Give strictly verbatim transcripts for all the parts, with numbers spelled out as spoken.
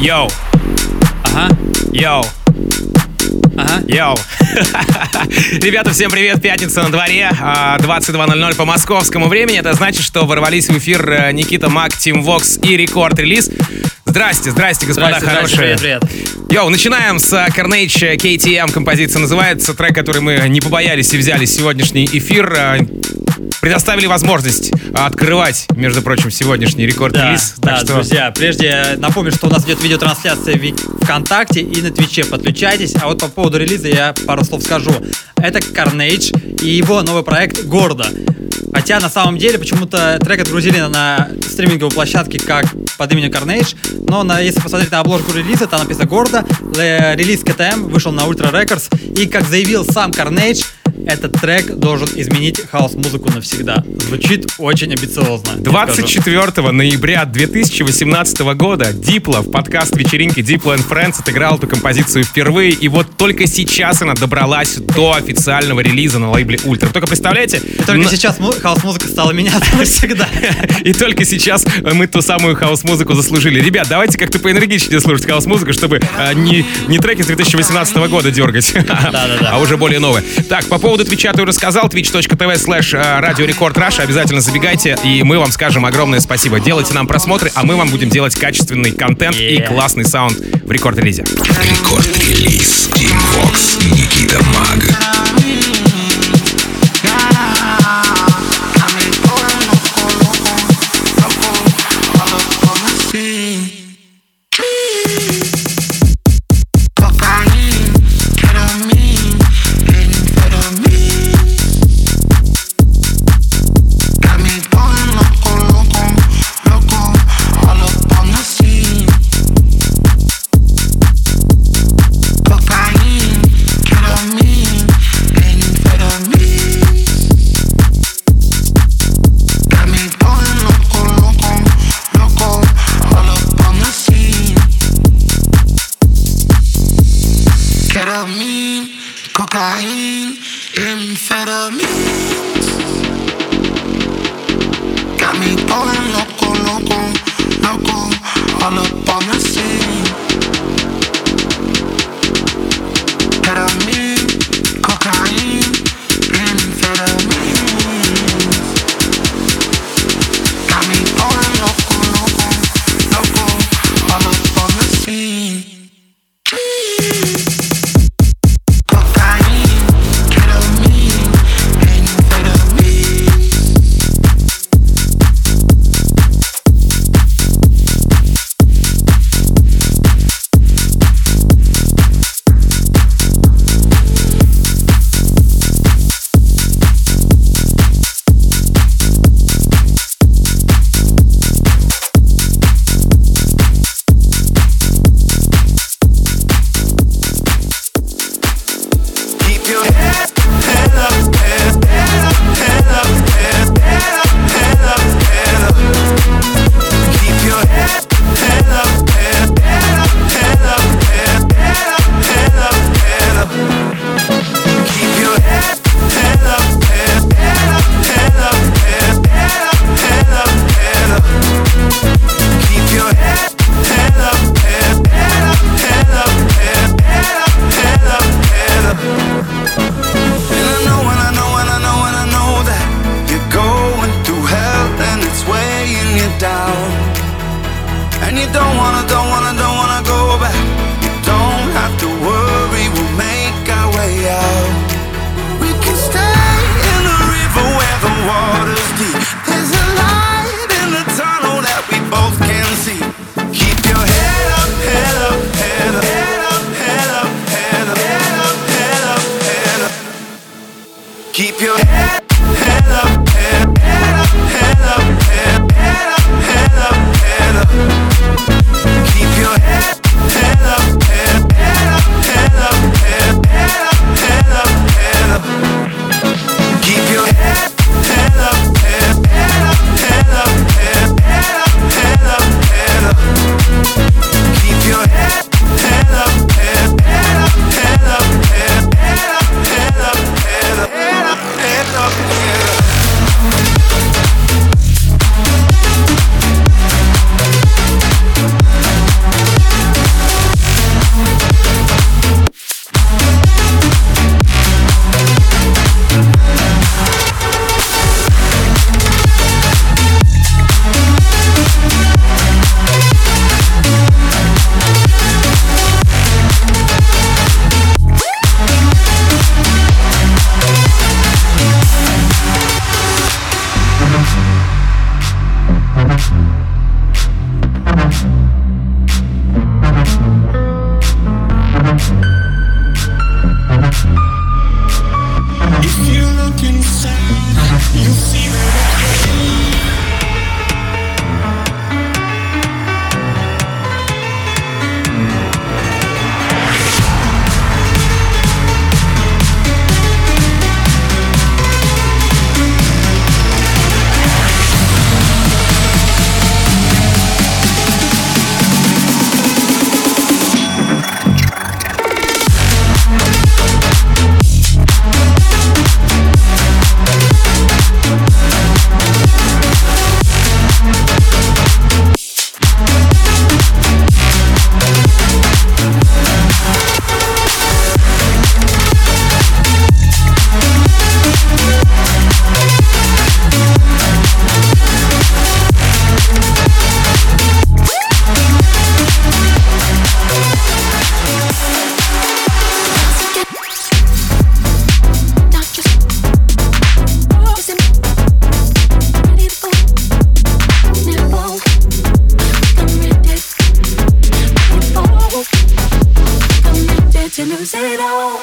Йоу. Ага. Йоу. Ага. Йоу. Ребята, всем привет. Пятница на дворе. двадцать два ноль ноль по московскому времени. Это значит, что ворвались в эфир Никита Мак, Team Vox и Рекорд Релиз. Здрасте, здрасте, господа Здрасте, хорошие. здрасте, привет, привет. Йоу, начинаем с Carnage кей ти эм. Композиция называется. Трек, который мы не побоялись и взяли сегодняшний эфир. Предоставили возможность открывать, между прочим, сегодняшний рекорд-релиз. Да, да, что... друзья, прежде напомню, что у нас идет видеотрансляция в ВКонтакте и на Твиче. Подключайтесь. А вот по поводу релиза я пару слов скажу. Это Carnage и его новый проект «Гордо». Хотя на самом деле почему-то трек отгрузили на стриминговой площадке как под именем Carnage, но на, если посмотреть на обложку релиза, там написано «Гордо». Релиз кей ти эм вышел на Ultra Records, и, как заявил сам Carnage, этот трек должен изменить хаос-музыку навсегда. Звучит очень амбициозно. двадцать четвёртого ноября две тысячи восемнадцатого года Дипло в подкаст вечеринки Diplo and Friends отыграл эту композицию впервые, и вот только сейчас она добралась до официального релиза на лейбле Ультра. Только представляете? И только на... сейчас хаос-музыка стала меняться навсегда. И только сейчас мы ту самую хаос-музыку заслужили. Ребят, давайте как-то поэнергичнее слушать хаос-музыку, чтобы не, не треки с две тысячи восемнадцатого года дергать, а уже более новые. Так, по поводу Твича ты уже сказал, twitch.tv слэш радио Рекорд Раша. Обязательно забегайте, и мы вам скажем огромное спасибо. Делайте нам просмотры, а мы вам будем делать качественный контент yeah. и классный саунд в рекорд-релизе. Рекорд-релиз Team Vox, Никита Мак. Cocaine, amphetamines, got me going loco, loco, loco, all up on the scene. Ketamine, cocaine, amphetamines, got me going loco, loco, loco, all up on the scene. Keep your head to lose it all.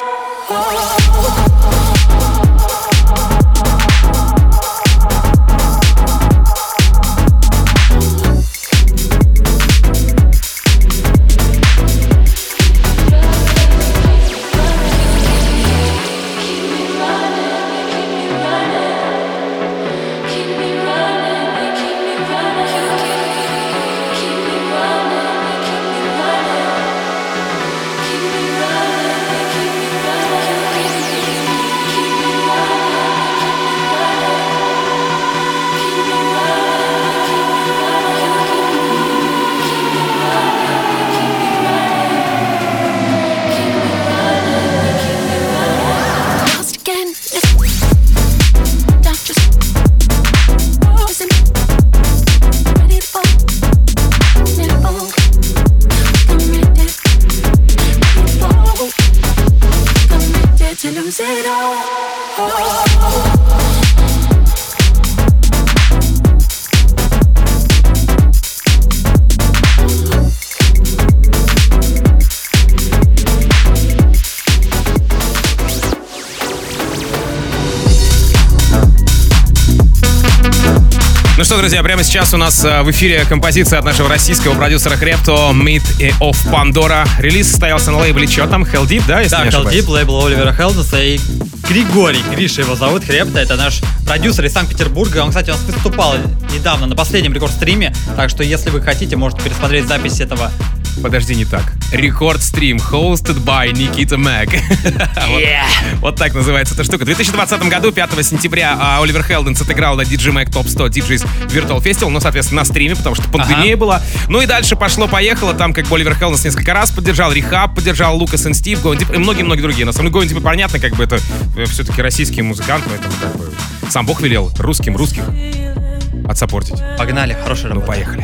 Ну что, друзья, прямо сейчас у нас в эфире композиция от нашего российского продюсера Хрепто «Meat of Pandora». Релиз состоялся на лейбле что там? Hell Deep, да, если да, не ошибаюсь? Hell Deep, лейбл Оливера Хелденса и Григорий, Гриша его зовут, Хрепто, это наш продюсер из Санкт-Петербурга. Он, кстати, у нас выступал недавно на последнем рекорд-стриме, так что, если вы хотите, можете пересмотреть запись этого. Подожди, не так. Рекорд-стрим, hosted by Nikita Mag. Yeah. вот, вот так называется эта штука. В две тысячи двадцатом году, пятого сентября, Оливер Хелденс отыграл на ди джей Mag Top сто ди джейс Virtual Festival, ну, соответственно, на стриме, потому что пандемия ага. была. Ну и дальше пошло-поехало. Там, как бы, Оливер Хелденс несколько раз поддержал, Рехаб поддержал, Лукас и Стив, Going Deep и многие-многие другие. На самом деле, Going Deep, понятно, как бы это все-таки российский музыкант, поэтому как бы сам Бог велел русским русских отсаппортить. Погнали, хорошая работа. Ну, поехали.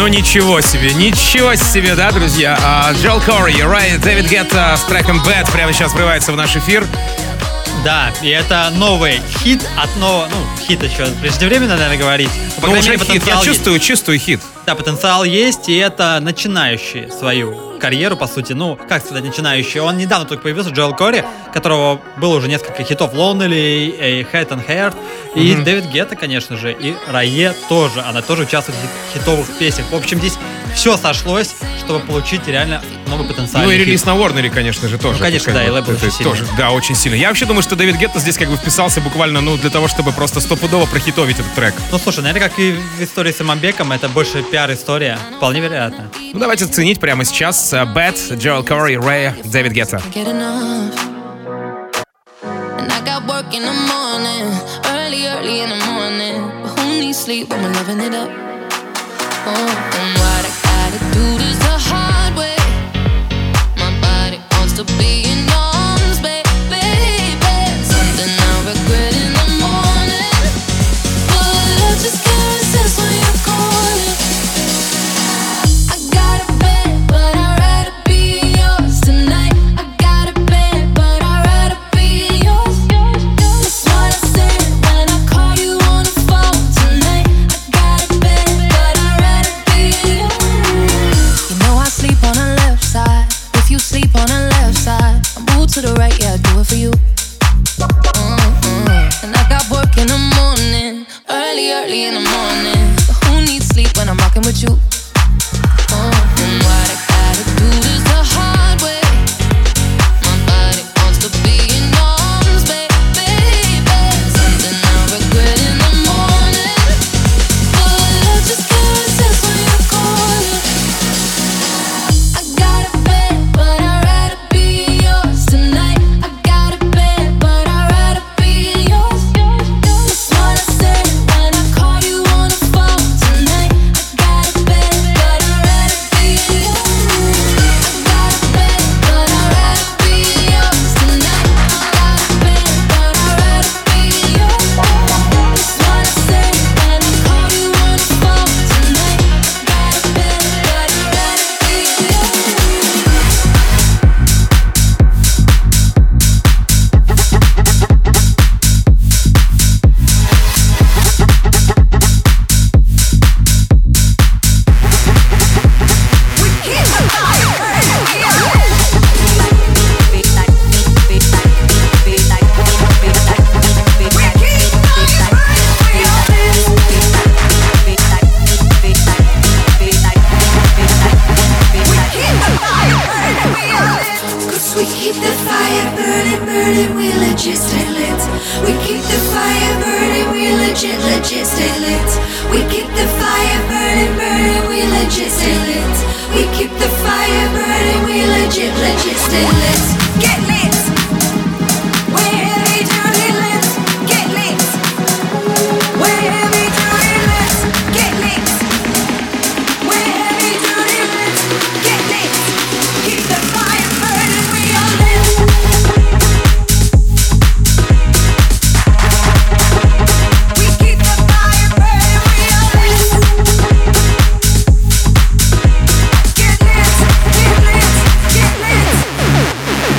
ничего себе, ничего себе, да, друзья? Джоэл Кори, Рай, Дэвид Гетта с треком Bad прямо сейчас врывается в наш эфир. Да, и это новый хит от нового, ну, хит еще преждевременно, наверное, говорить. По ну, уже хит, я чувствую, есть. чувствую хит. Да, потенциал есть, и это начинающий свою карьеру, по сути. Ну, как сказать, начинающий. Он недавно только появился, Джоэл Кори, которого было уже несколько хитов. Lonely, Head and Heart, и mm-hmm. Дэвид Гетта, конечно же, и Рае тоже. Она тоже участвует в хитовых песнях. В общем, здесь все сошлось, чтобы получить реально новый потенциал. Ну и релиз на Warner, конечно же, тоже. Ну, конечно, да, и лейбл очень сильный. Тоже, да, очень сильно. Я вообще думаю, что Дэвид Гетта здесь как бы вписался буквально, ну, для того, чтобы просто стопудово прохитовить этот трек. Ну, слушай, наверное, как и в истории с Иманбеком, это больше пиар-история. Вполне вероятно. Ну, давайте ценить прямо сейчас. Bad, Джоэл Кори, Рэй, Дэвид Гетта. To be in arms, baby, something I regret in the morning, but I just can't resist when you're calling. I got a bed, but I'd rather be yours tonight. I got a bed, but I'd rather be yours. That's what I said when I call you on the phone tonight. I got a bed, but I'd rather be yours. You know I sleep on the left side. If you sleep on the left side, I move to the right, yeah, I do it for you. Mm-hmm. And I got work in the morning, early, early in the morning. But who needs sleep when I'm rocking with you? Mm-hmm. What I gotta do this the hard way. My body wants to be in arms, baby, something I regret in the morning, but I just can't resist when you're calling. I got a bed, but I'd rather be yours tonight. I got a bed, but I'd rather be yours. That's what I said when I call you on the phone tonight. I got a bed, but I'd rather be yours. I got a bed, but I'd rather be yours tonight. I got a bed, but I'd rather be yours. That's what I said when I call you on the phone tonight. I got a bed, but I'd rather be yours. Cause we keep the fire burning, burning, we legit stay lit. We keep the fire burning, we legit, legit stay lit. We keep the fire burning, burning, we legit stay lit. We keep the fire burning, we legit, legit stay lit. Get lit. We're heavy duty lit. Get lit. We're heavy duty lit. Get lit. We're heavy duty lit. Get lit. Keep the fire burning, we are lit. We keep the fire burning, we are lit. Get lit, get lit, get lit.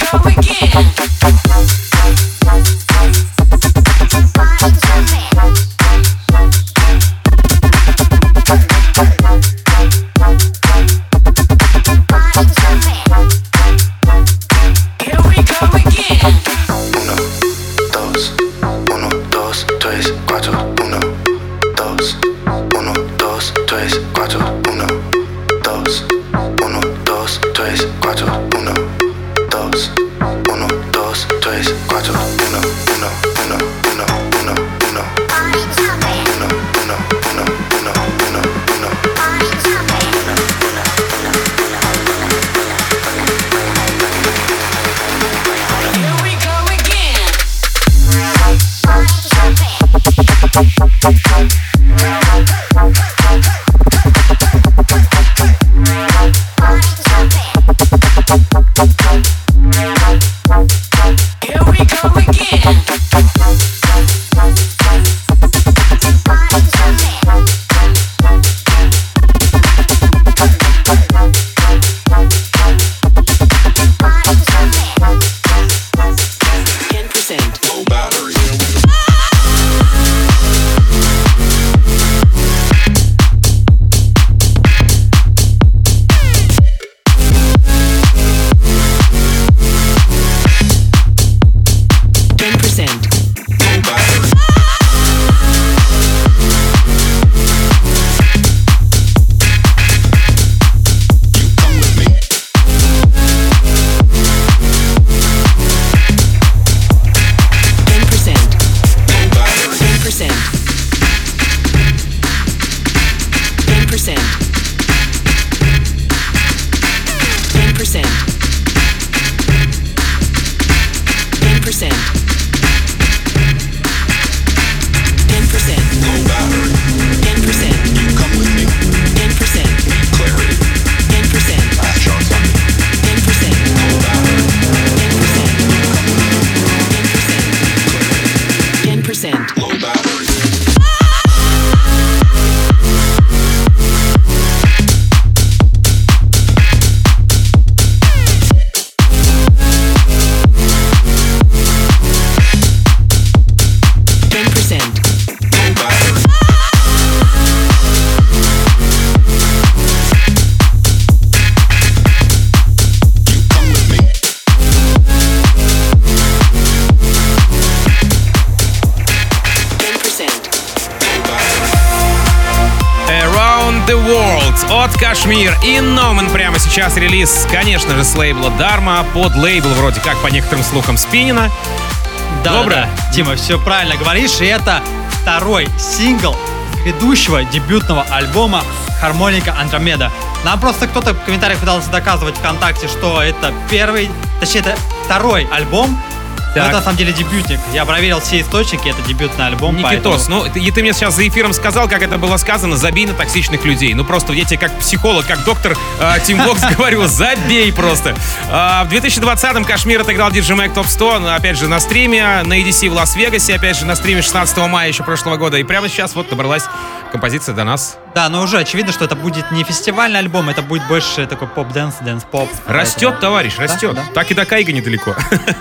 От Кашмир и Номан прямо сейчас релиз, конечно же, с лейбла Dharma, под лейбл вроде как, по некоторым слухам, Спинина. Да, Доброе? Да, да. Тима, все правильно говоришь, и это второй сингл грядущего дебютного альбома «Хармоника Андромеда». Нам просто кто-то в комментариях пытался доказывать ВКонтакте, что это первый, точнее, это второй альбом. Но это на самом деле дебютник. Я проверил все источники, это дебютный альбом. Никитос, поэтому... ну ты, ты мне сейчас за эфиром сказал, как это было сказано, забей на токсичных людей. Ну просто я тебе как психолог, как доктор э, Team Vox говорю, забей просто. Э, в две тысячи двадцатом Кашмир отыграл ди джей Mag Top сто, опять же на стриме, на и ди си в Лас-Вегасе, опять же на стриме шестнадцатого мая еще прошлого года. И прямо сейчас вот добралась композиция до нас. Да, но уже очевидно, что это будет не фестивальный альбом, это будет больше такой поп-дэнс, дэнс-поп. Растет, поэтому... товарищ, растет. Да, да. Так и до Кайга недалеко.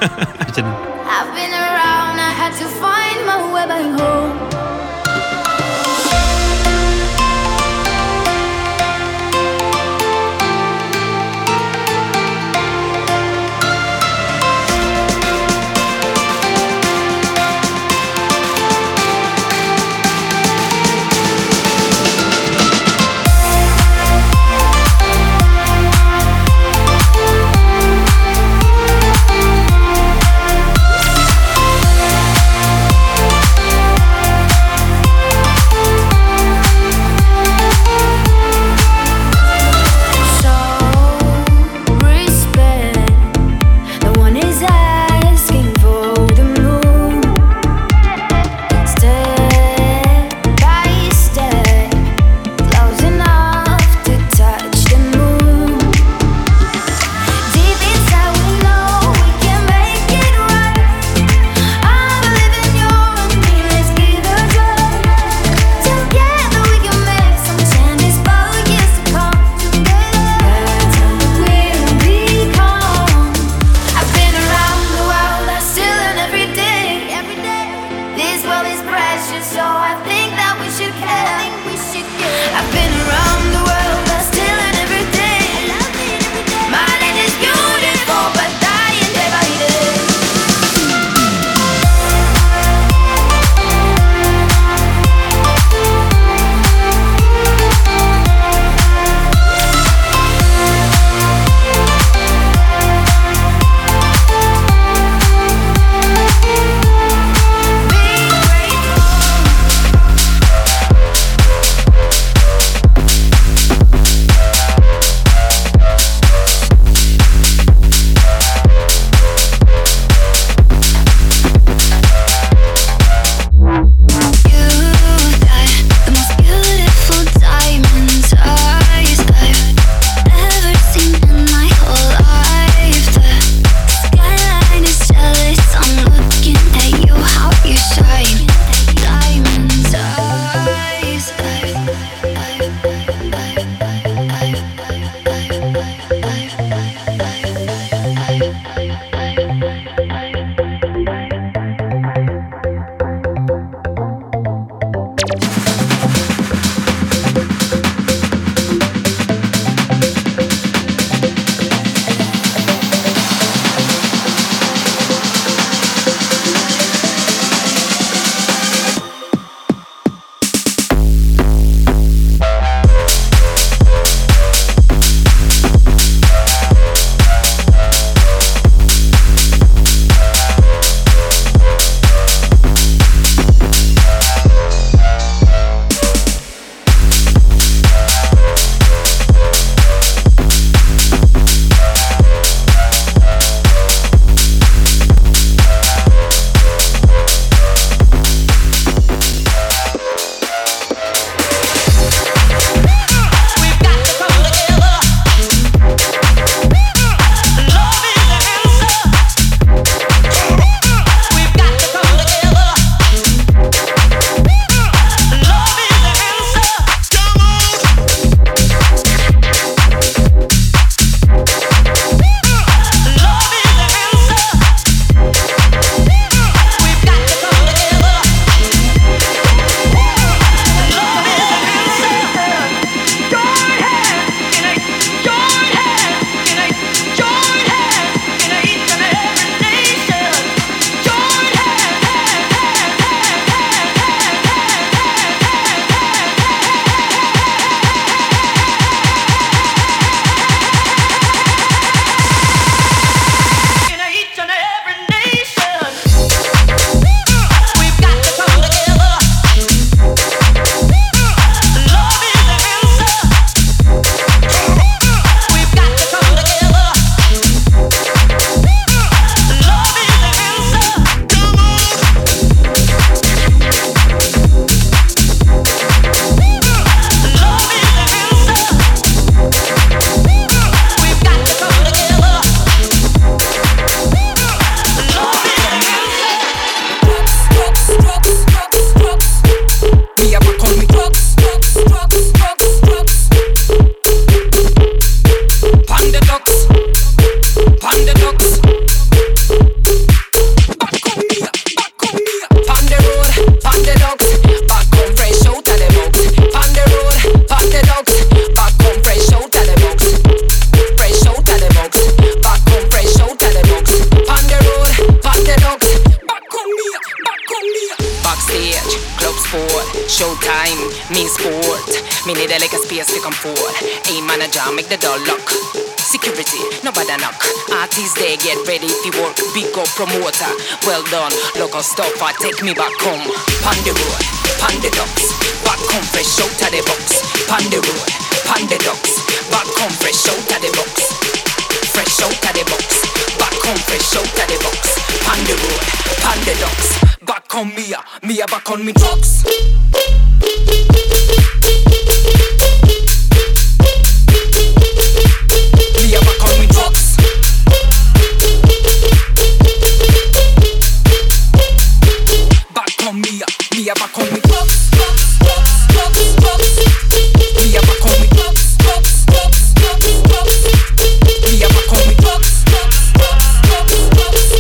I've been around, I had to find my way back home. time, mean sport. Me need a like a space to come forward. A manager, make the door lock. Security, nobody knock. Artists they get ready to work. Big up promoter, well done. Local stopper, take me back home. Pon the road, pon the docks. Back home fresh out of the box. Pon the road, pon the docks. Back home fresh out of the box. Fresh out of the box. Back home fresh out of the box. Pon the road, pon the docks. Back on me, me back on me drugs. Me back on me drugs. Back on me, me back on me drugs. Drugs, drugs, drugs. Me back on me drugs. Drugs, drugs, drugs, drugs. Me back on me drugs. Drugs, drugs, drugs, drugs.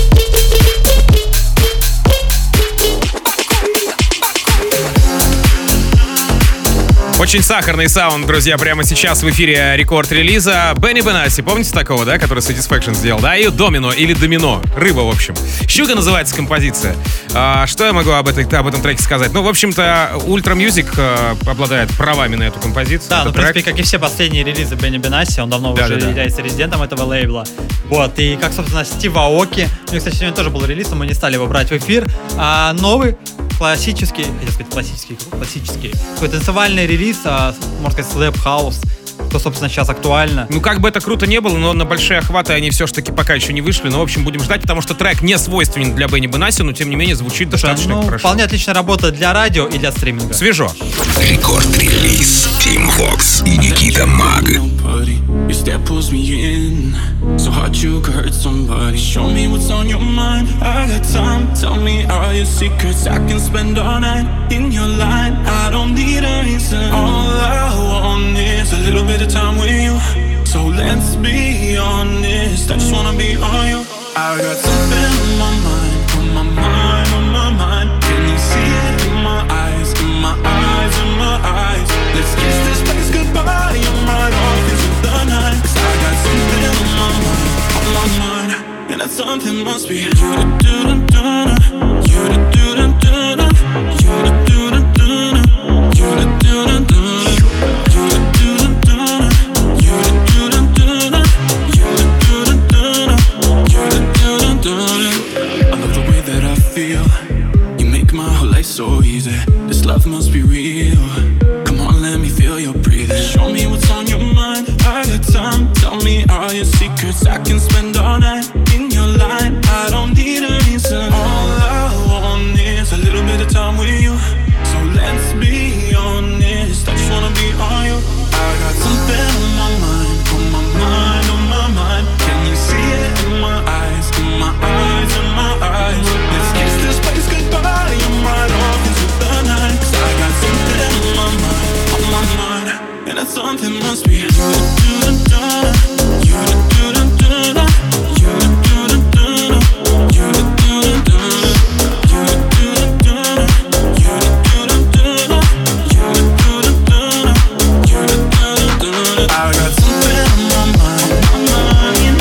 Очень сахарный саунд, друзья, прямо сейчас в эфире рекорд-релиза Бенни Бенасси. Помните такого, да, который Satisfaction сделал? Да, и Домино или Домино. Рыба, в общем. «Щука» называется композиция. А, что я могу об, этой, об этом треке сказать? Ну, в общем-то, Ultra Music а, обладает правами на эту композицию. Да, это ну, в принципе, как и все последние релизы Бенни Бенасси, он давно да, уже да, да. является резидентом этого лейбла. Вот, и как, собственно, Стив Аоки. У него, кстати, сегодня тоже был релиз, но мы не стали его брать в эфир. А новый классический, хотел сказать классический, классический, такой танцевальный релиз, а, можно сказать, слэп хаус, что, собственно, сейчас актуально. Ну, как бы это круто не было, но на большие охваты они все-таки пока еще не вышли. Но, в общем, будем ждать, потому что трек не свойственен для Бенни Бенасси, но, тем не менее, звучит Слушай, достаточно ну, хорошо. Вполне отлично работает для радио и для стриминга. Свежо. Рекорд-релиз Team Vox и Никита Маг. Your step pulls me in, so hard you could hurt somebody. Show me what's on your mind, I got time. Tell me all your secrets, I can spend all night in your line. I don't need a reason, all I want is a little bit of time with you. So let's be honest, I just wanna be on you. I got something on my mind, on my mind, on my mind. Can you see it in my eyes, in my eyes, in my eyes? Let's kiss this place goodbye, I'm right off into the night. Cause I got something on my mind, on my mind. And that something must be you to do da da da, you to do da da da, you to do da da da, you to do da da da, you to do da da da, you to do da da da, you to do da da da, you to do da da da. I love the way that I feel. You make my whole life so easy. This love must be real. Come on, let me feel your breathing. Show me what's on your mind. I got time. Tell me all your secrets. I can spend all night in your line. I don't need a reason. All I want is a little bit of time with you. So let's be honest. I just wanna be on you. I got something on my mind, on my mind, on my mind. Can you see it in my eyes, in my eyes, in my eyes? Let's kiss this place goodbye. I'm right off into the night. Cause I got something on my mind, on my mind. And that something must be you to do da da, you to do da da da, you to do da da da, you to do da da da, you to do da da da, you to do da da da, you to do da da da, you to do da da da. I got something on my mind, on my mind.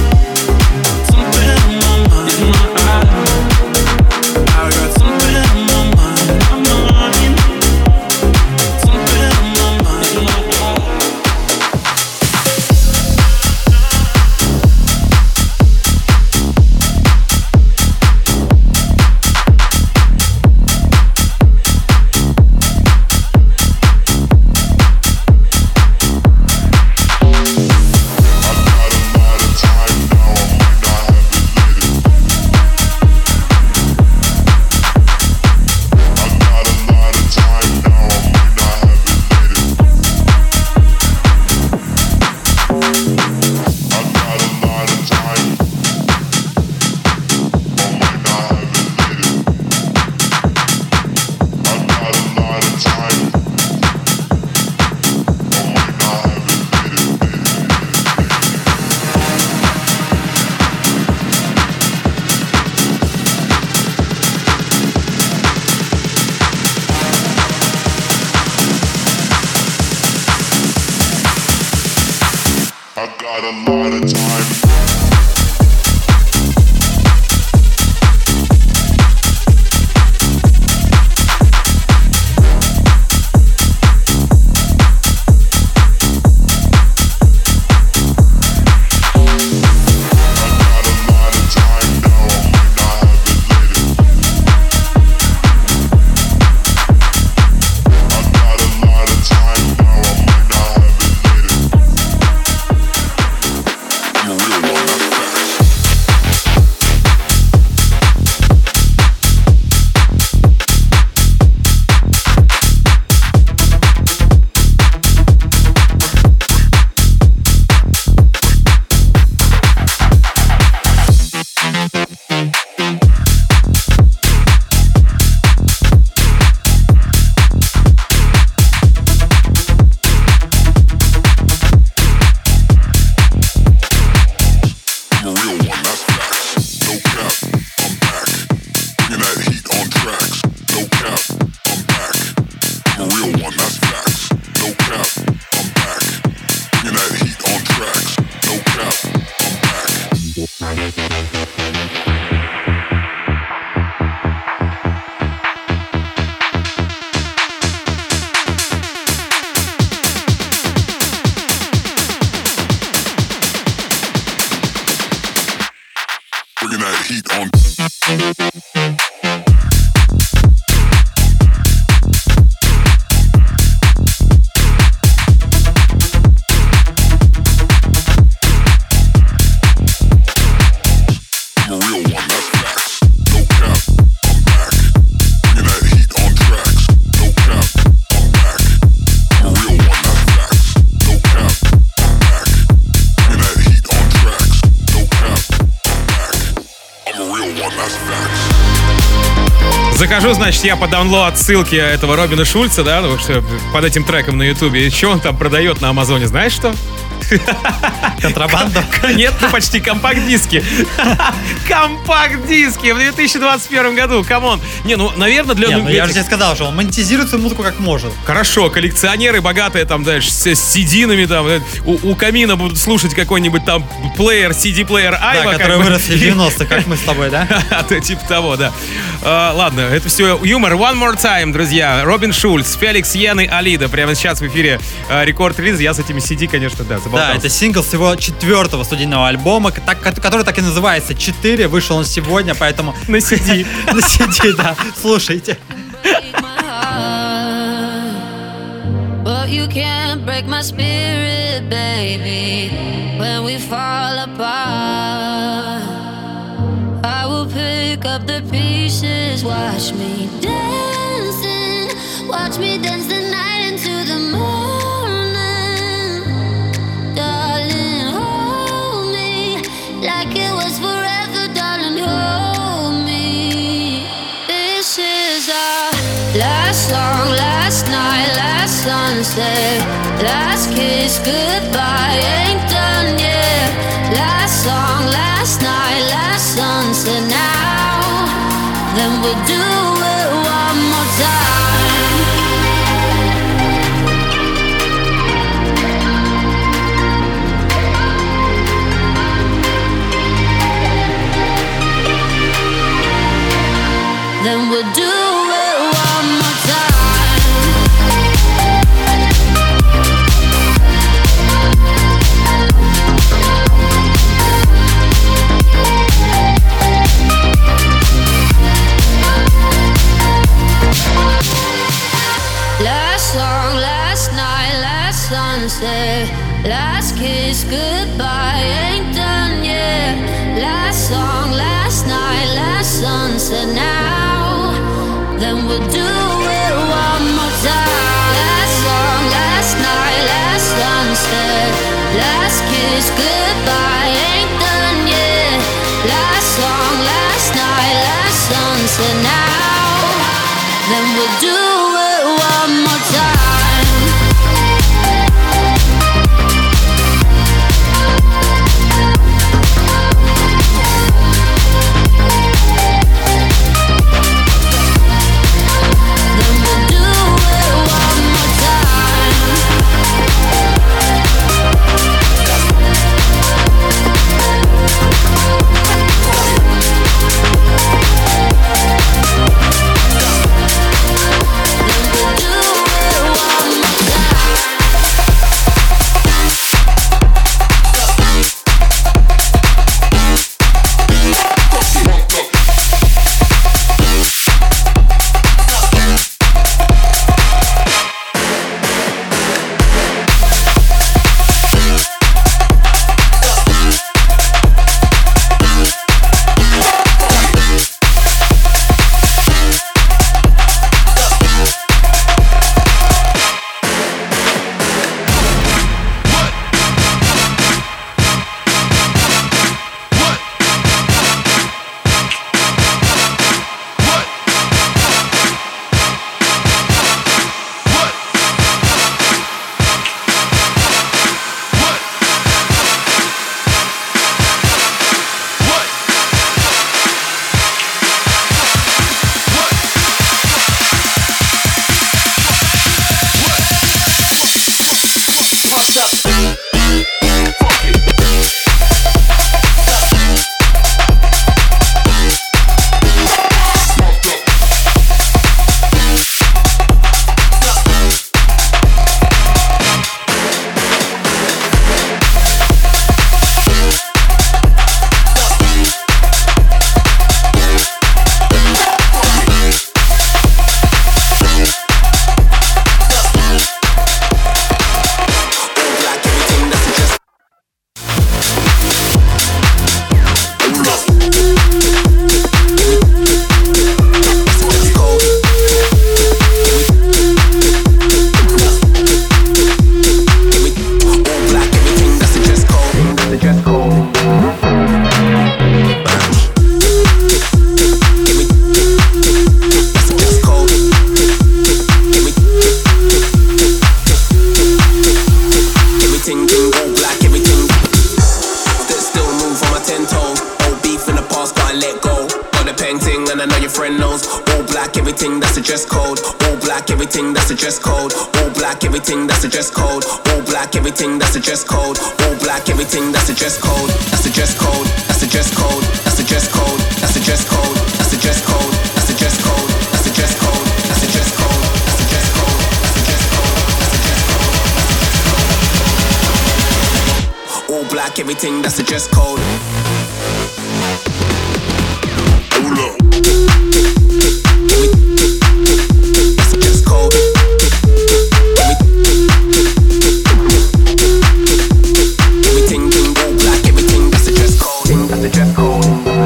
Something on my mind, in my eyes. I got something on my mind, on my mind. Something on my mind, in my eyes. I got a lot of time. Захожу, значит, я по даунлоад ссылки этого Робина Шульца, да, ну, что под этим треком на Ютубе. И что он там продает на Амазоне, знаешь что? Контрабанду? Нет, ну почти компакт-диски. Компакт-диски в две тысячи двадцать первом году, камон. Не, ну, наверное, для... Не, ну, этих... я же тебе сказал, что он монетизирует свою музыку как может. Хорошо, коллекционеры богатые там, знаешь, с, с си ди-нами там, у, у камина будут слушать какой-нибудь там плеер, си ди-плеер Айва. Да, который вырос в девяностых, как мы с тобой, да? Типа того, да. А, ладно, это все юмор. One more time, друзья. Робин Шульц, Феликс Йен и Алида. Прямо сейчас в эфире рекорд-релиз. Я с этими си ди, конечно, да, заболтался. Да, это сингл с его четвертого студийного альбома, так, который так и называется «четыре». Вышел он сегодня, поэтому... На си ди. На си ди, да. Слушайте. But you can't break my spirit, baby. When we fall apart, I will pick up the pieces. Watch me dancing, watch me dance the night into the morning. Darling, hold me like it was forever, darling, hold me. This is our last song, last night, last sunset, last kiss, goodbye, ain't done yet. Last song, last night, last sunset, now, then we'll do it one more time. Then we'll do it one more time. Last song, last night, last sunset, last kiss, goodbye, ain't done yet. Last song, last night, last sunset, now, then we'll do it one more time. Last song, last night, last sunset, last kiss, goodbye, ain't done yet. Last song, last night, last sunset, now, then we'll do it one more time. can't let go. Got the pen ting and I know your friend knows. All black, everything, that's the dress code. All black, everything, that's the dress code. All black, everything, that's the dress code. All black, everything, that's the dress code. All black, everything, that's the dress code. That's the dress code. That's the dress code. That's the dress code. That's the dress code. That's the dress code. That's the dress code. That's the dress code. That's the dress code. That's the dress code. That's the dress code. That's the dress code. All black, everything, that's the dress code. Hold up. That's the dress code. Everything, all black, everything, that's the dress code. That's the dress code.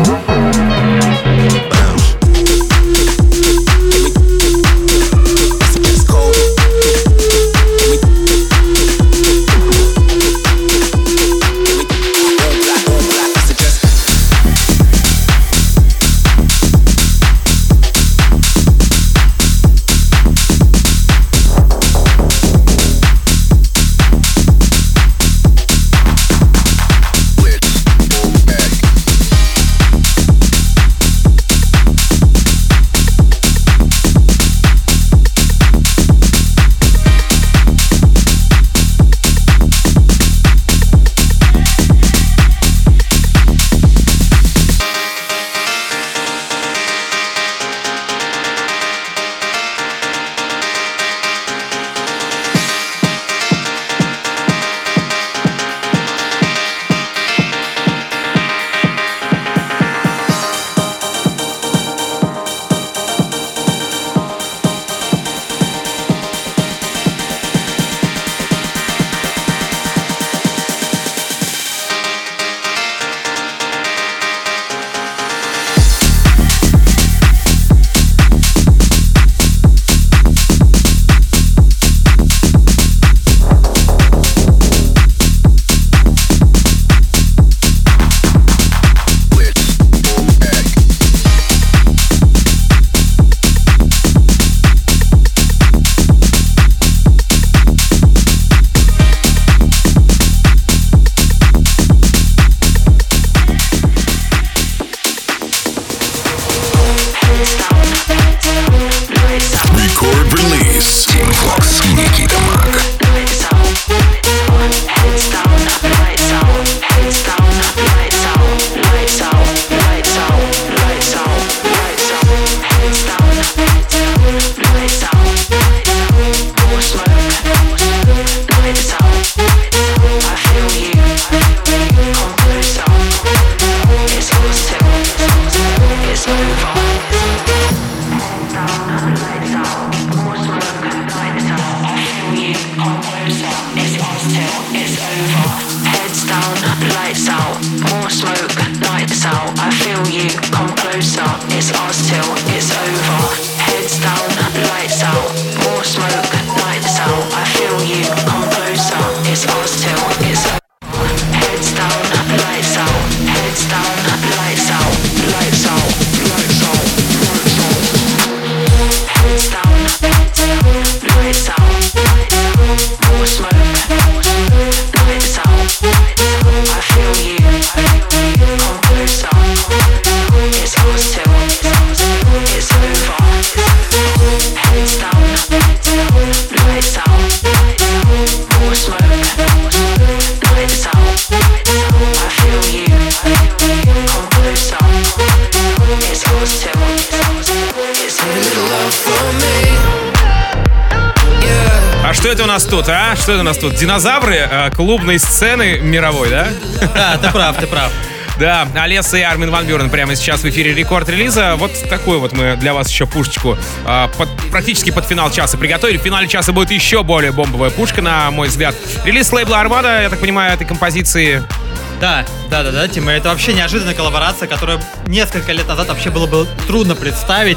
Что это у нас тут, а? Что это у нас тут? Динозавры э, клубной сцены мировой, да? Да, ты прав, ты прав. Да, Алесса и Армин ван Бюрен прямо сейчас в эфире рекорд-релиза. Вот такую вот мы для вас еще пушечку э, под, практически под финал часа приготовили. В финале часа будет еще более бомбовая пушка, на мой взгляд. Релиз лейбла Армада, я так понимаю, этой композиции. Да, да, да, да, Тима, это вообще неожиданная коллаборация, которую несколько лет назад вообще было бы трудно представить.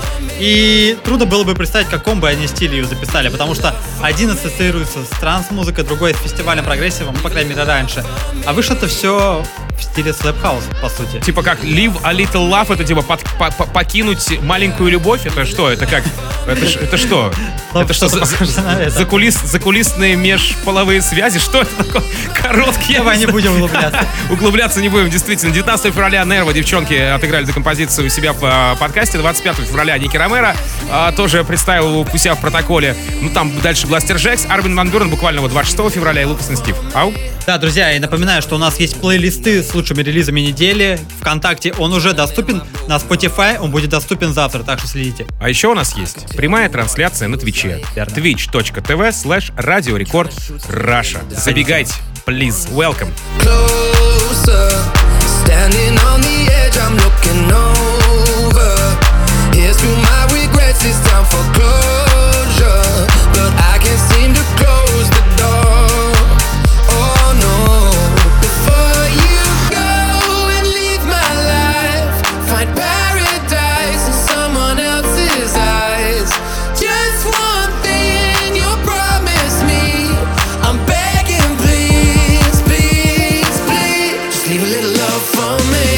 И трудно было бы представить, в каком бы они стиле ее записали, потому что один ассоциируется с транс-музыкой, другой с фестивалем прогрессива, ну, по крайней мере, раньше. А вышло-то все в стиле Slap House, по сути. Типа как Live a Little Love, это типа под, по, по, покинуть маленькую любовь, это что? Это как? Это, это что? Это что, за, за, закулис, закулисные межполовые связи? Что это такое? Короткие. Давай не будем углубляться. Углубляться не будем, действительно. девятнадцатого февраля Нерво, девчонки, отыграли эту композицию у себя в подкасте. двадцать пятого февраля Ники Ромеро а, тоже представил у себя в протоколе. Ну, там дальше Бластер Джекс, Армин ван Бюрен буквально вот двадцать шестого февраля и Лукас и Стив. Ау. Да, друзья, и напоминаю, что у нас есть плейлисты с лучшими релизами недели. ВКонтакте он уже доступен, на Spotify он будет доступен завтра, так что следите. А еще у нас есть прямая трансляция на Твиче. twitch точка tv slash Radio Record Russia. Забегайте, please, welcome. Closer, standing on the edge, I'm looking over. Here's through my regrets, it's time for closure. But I can't seem to close the door. Oh no. Before you go and leave my life, find paradise in someone else's eyes. Just one thing you promise me, I'm begging, please, please, please, just leave a little love for me.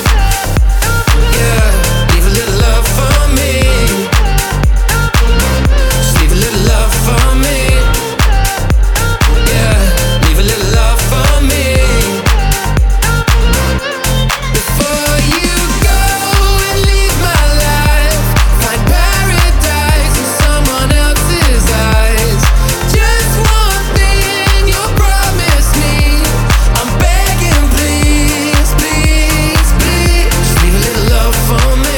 Yeah, leave a little love for me. Just leave a little love for me. Yeah, leave a little love for me. Before you go and leave my life, find paradise in someone else's eyes. Just one thing you promise me, I'm begging, please, please, please, just leave a little love for me.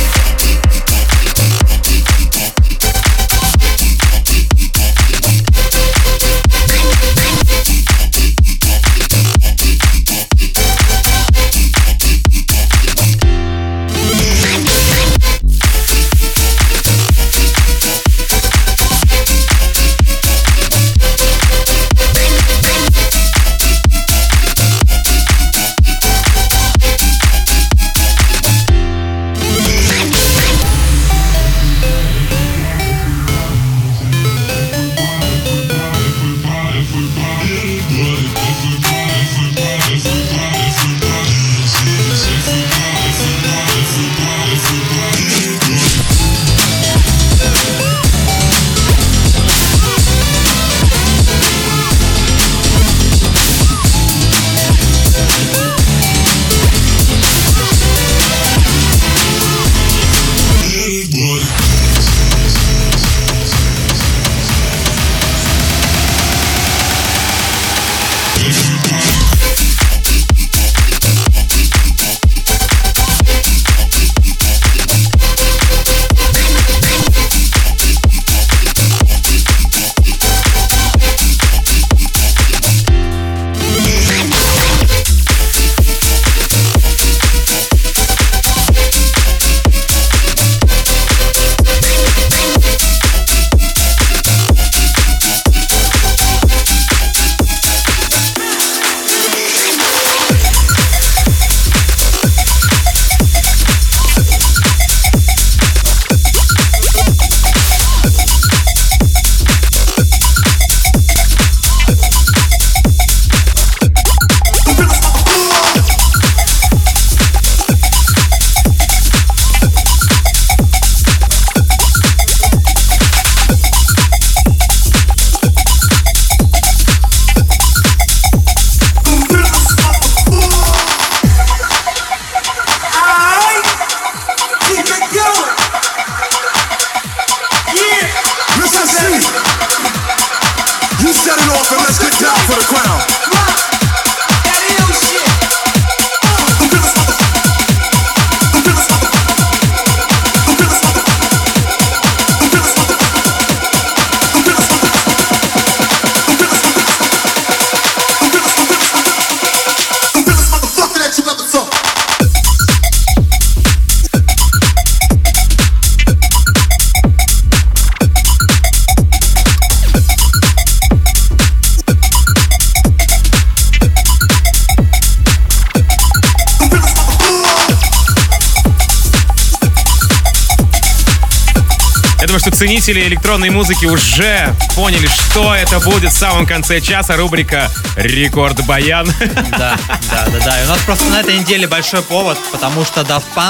Ценители электронной музыки уже поняли, что это будет в самом конце часа. Рубрика «Рекорд Баян». Да, да, да, да. И у нас просто на этой неделе большой повод, потому что Daft Punk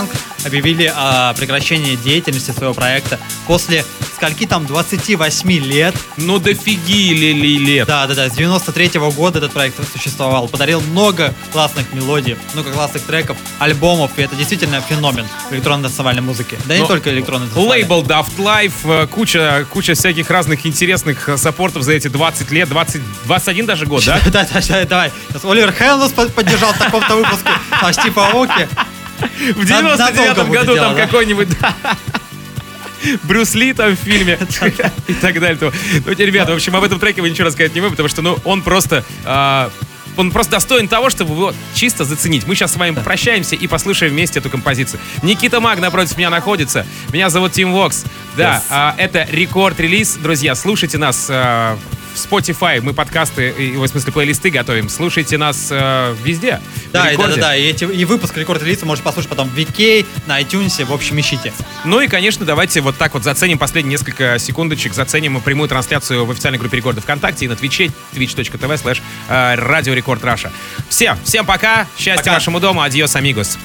объявили о прекращении деятельности своего проекта после скольки там двадцати восьми лет. Ну дофиги ли лет. Да, да, да. С девяносто третьего года этот проект существовал. Подарил много классных мелодий, много классных треков, альбомов. И это действительно феномен электронно-танцевальной музыки. Да и не только электронно-танцевальной. Лейбл Daft Life, куча, куча всяких разных интересных саппортов за эти двадцать лет, двадцать, двадцать один даже год, да? Да, да, да, давай. Оливер Хеллнес поддержал в таком-то выпуске, а Стив Аоки в девяносто девятом году там какой-нибудь... Брюс Ли там в фильме и так далее. Ну, ребята, в общем, об этом треке вы ничего рассказать не можете, потому что, ну, он просто... Э, он просто достоин того, чтобы его чисто заценить. Мы сейчас с вами попрощаемся и послушаем вместе эту композицию. Никита Маг напротив меня находится. Меня зовут Тим Вокс. Да, yes. э, это рекорд-релиз. Друзья, слушайте нас э, в Spotify. Мы подкасты, и, в смысле, плейлисты готовим. Слушайте нас э, везде. Да, и, да, да, да. И, эти, и выпуск рекорд-релиза можете послушать потом в ви кей, на iTunes, в общем, ищите. Ну и, конечно, давайте вот так вот заценим последние несколько секундочек. Заценим прямую трансляцию в официальной группе Рекорда ВКонтакте и на Твиче, twitch.tv slash радио Рекорд Раша. Всем, всем пока. Счастья пока. Вашему дому. Адьос, амигос.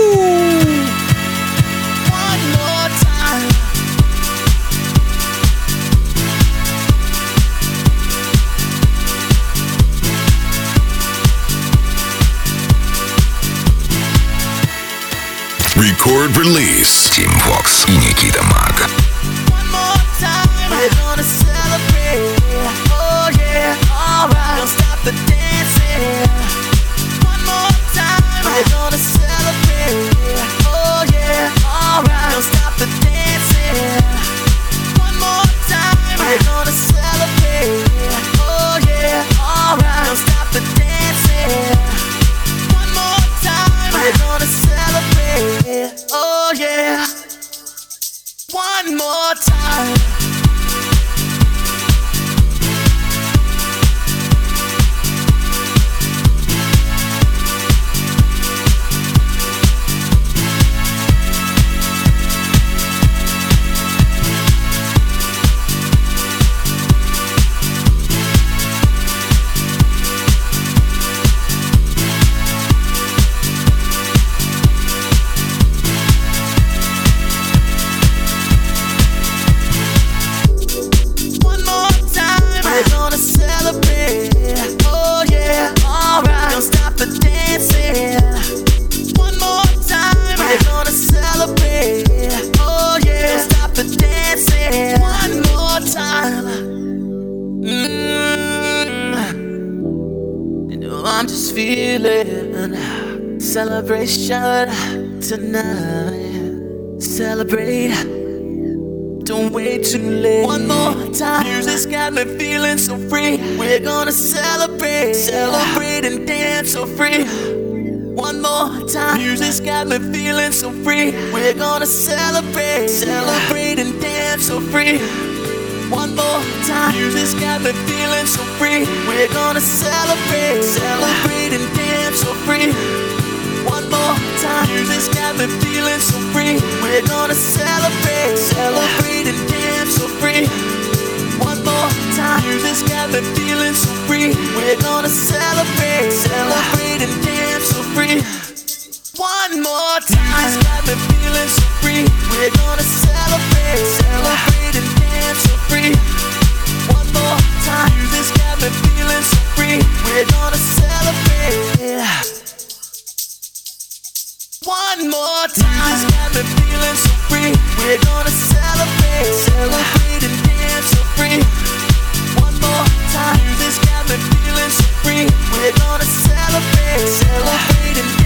Record release. Team Vox и Никита Маг. Oh yeah, one more time. Celebration tonight. Celebrate. Don't wait too late. One more time. Music's got me feeling so free. We're gonna celebrate. Celebrate and dance so free. One more time. Music's got me feeling so free. We're gonna celebrate. Celebrate and dance so free. One more time. Music's got me feeling so free. We're gonna celebrate. Celebrate and dance so free. One more time. Music's got me feeling so free. We're gonna celebrate. Celebrate and dance so free. One more time. Music's got me feeling so free. We're gonna celebrate. Celebrate and dance so free. One more time. Music's got me feeling so free. We're gonna celebrate. Celebrate and dance so free. One more time. Music's got me feeling so free. We're gonna celebrate. One more time. Music's got me feeling so free. We're gonna celebrate. Celebrate and dance so free. One more time. Music's got me feeling so free. We're gonna celebrate. Celebrate and